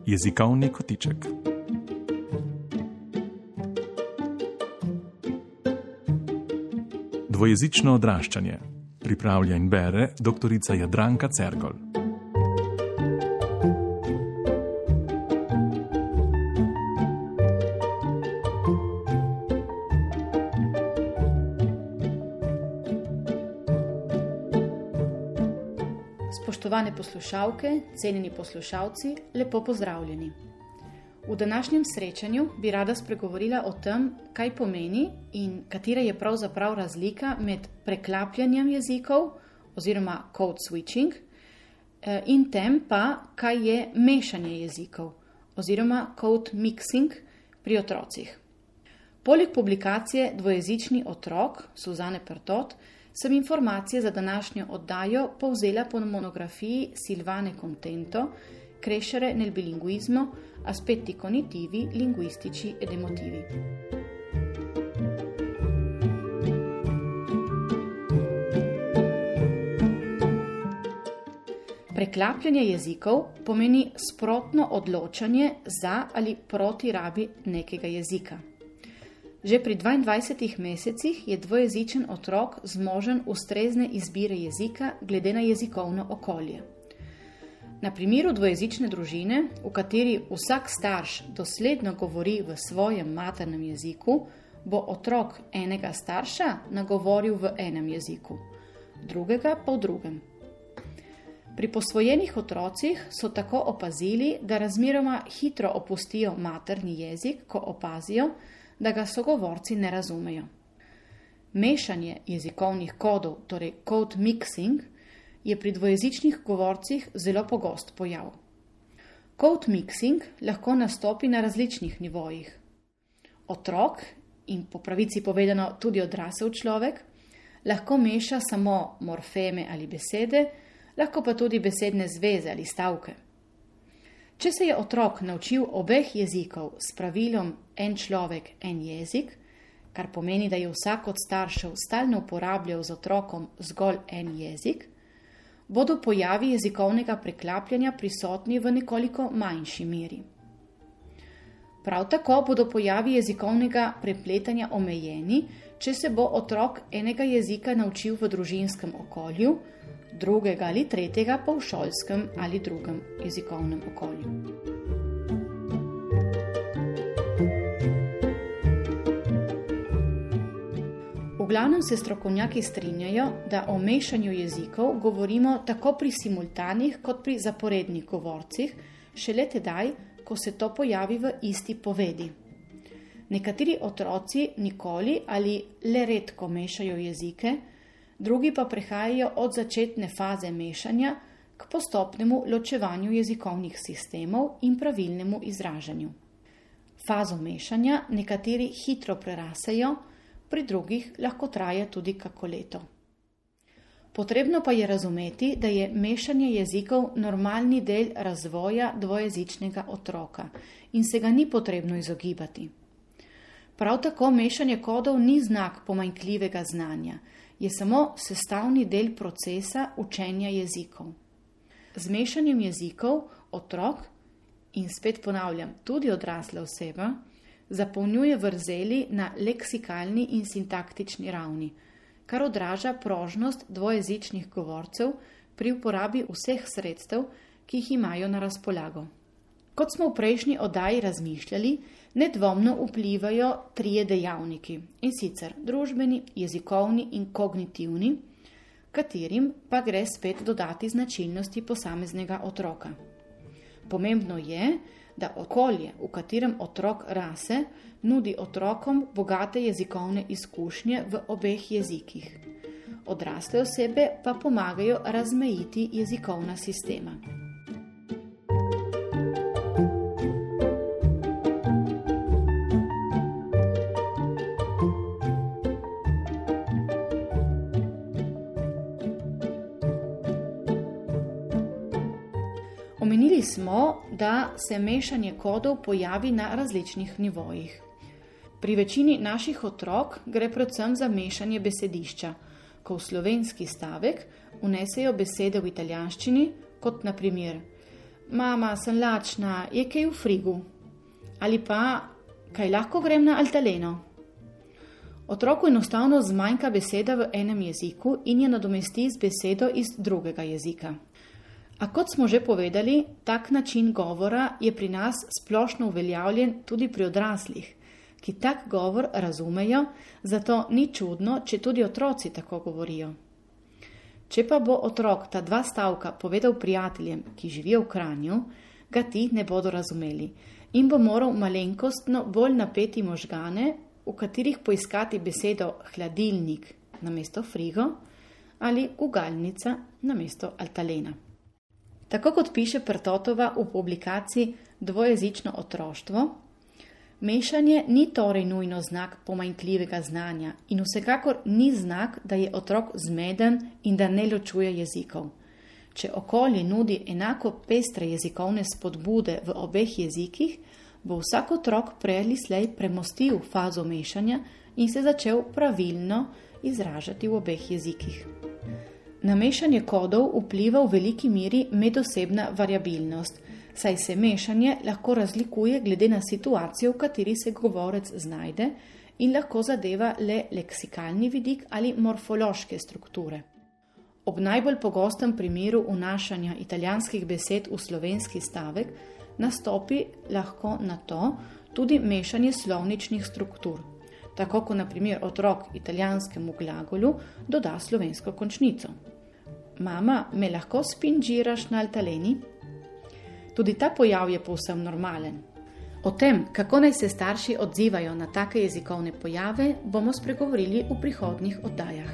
Jezikovni kotiček. Dvojezično odraščanje. Pripravlja in bere doktorica Jadranka Cergol. Spoštovane poslušalke, cenjeni poslušalci, lepo pozdravljeni. V današnjem srečanju bi rada spregovorila o tem, kaj pomeni in katera je pravzaprav razlika med preklapljanjem jezikov oziroma code switching in tem pa, kaj je mešanje jezikov oziroma code mixing pri otrocih. Poleg publikacije Dvojezični otrok Suzane Pertot sem informacije za današnjo oddajo povzela po monografiji Silvane Contento Crescere nel bilinguismo, aspetti cognitivi, linguistici ed emotivi. Preklapljanje jezikov pomeni sprotno odločanje za ali proti rabi nekega jezika. Že pri 22 mesecih je dvojezičen otrok zmožen ustrezne izbire jezika glede na jezikovno okolje. Na primeru dvojezične družine, v kateri vsak starš dosledno govori v svojem maternem jeziku, bo otrok enega starša nagovoril v enem jeziku, drugega pa v drugem. Pri posvojenih otrocih so tako opazili, da razmeroma hitro opustijo materni jezik, ko opazijo, da ga sogovorci ne razumejo. Mešanje jezikovnih kodov, torej code mixing, je pri dvojezičnih govorcih zelo pogost pojav. Code mixing lahko nastopi na različnih nivojih. Otrok, in po pravici povedano tudi odrasel človek, lahko meša samo morfeme ali besede, lahko pa tudi besedne zveze ali stavke. Če se je otrok naučil obeh jezikov s pravilom en človek, en jezik, kar pomeni, da je vsak od staršev stalno uporabljal z otrokom zgolj en jezik, bodo pojavi jezikovnega preklapljanja prisotni v nekoliko manjši meri. Prav tako bodo pojavi jezikovnega prepletanja omejeni, če se bo otrok enega jezika naučil v družinskem okolju, drugega ali tretjega pa v šolskem ali drugem jezikovnem okolju. V glavnem se strokovnjaki strinjajo, da o mešanju jezikov govorimo tako pri simultanih kot pri zaporednih govorcih, šele tedaj, ko se to pojavi v isti povedi. Nekateri otroci nikoli ali le redko mešajo jezike, drugi pa prehajajo od začetne faze mešanja k postopnemu ločevanju jezikovnih sistemov in pravilnemu izražanju. Fazo mešanja nekateri hitro prerasejo, pri drugih lahko traja tudi kako leto. Potrebno pa je razumeti, da je mešanje jezikov normalni del razvoja dvojezičnega otroka in se ga ni potrebno izogibati. Prav tako mešanje kodov ni znak pomanjkljivega znanja, je samo sestavni del procesa učenja jezikov. Z mešanjem jezikov otrok, in spet ponavljam, tudi odrasla oseba, zapolnjuje vrzeli na leksikalni in sintaktični ravni, kar odraža prožnost dvojezičnih govorcev pri uporabi vseh sredstev, ki jih imajo na razpolago. Kot smo v prejšnji oddaji razmišljali, nedvomno vplivajo trije dejavniki, in sicer družbeni, jezikovni in kognitivni, katerim pa gre spet dodati značilnosti posameznega otroka. Pomembno je, da okolje, v katerem otrok rase, nudi otrokom bogate jezikovne izkušnje v obeh jezikih. Odrasle osebe pa pomagajo razmejiti jezikovna sistema. Omenili smo, da se mešanje kodov pojavi na različnih nivojih. Pri večini naših otrok gre predvsem za mešanje besedišča, ko v slovenski stavek vnesejo besede v italijanščini, kot na primer Mama, sem lačna, je kaj v frigu? Ali pa, kaj lahko grem na Altaleno? Otroku enostavno zmanjka beseda v enem jeziku in jo nadomesti z besedo iz drugega jezika. A kot smo že povedali, tak način govora je pri nas splošno uveljavljen tudi pri odraslih, ki tak govor razumejo, zato ni čudno, če tudi otroci tako govorijo. Če pa bo otrok ta 2 stavka povedal prijateljem, ki živijo v Kranju, ga ti ne bodo razumeli in bo moral malenkostno bolj napeti možgane, v katerih poiskati besedo hladilnik namesto frigo ali gugalnica namesto Altalena. Tako kot piše Pertotova v publikaciji Dvojezično otroštvo, mešanje ni torej nujno znak pomanjkljivega znanja in vsekakor ni znak, da je otrok zmeden in da ne ločuje jezikov. Če okolje nudi enako pestre jezikovne spodbude v obeh jezikih, bo vsak otrok prej ali slej premostil fazo mešanja in se začel pravilno izražati v obeh jezikih. Na mešanje kodov vpliva v veliki meri medosebna variabilnost, saj se mešanje lahko razlikuje glede na situacijo, v kateri se govorec znajde in lahko zadeva le leksikalni vidik ali morfološke strukture. Ob najbolj pogostem primeru vnašanja italijanskih besed v slovenski stavek nastopi lahko na to tudi mešanje slovničnih struktur, tako kot na primer otrok italijanskemu glagolu doda slovensko končnico. Mama, me lahko spinžiraš na Altaleni? Tudi ta pojav je povsem normalen. O tem, kako naj se starši odzivajo na take jezikovne pojave, bomo spregovorili v prihodnjih oddajah.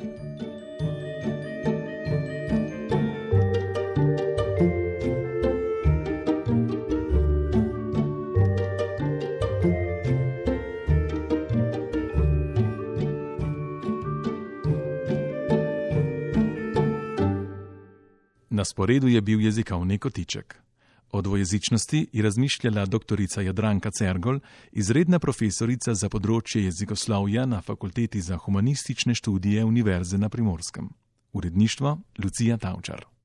Na sporedu je bil jezikovni kotiček. O dvojezičnosti je razmišljala doktorica Jadranka Cergol, izredna profesorica za področje jezikoslovja na Fakulteti za humanistične študije Univerze na Primorskem. Uredništvo Lucija Tavčar.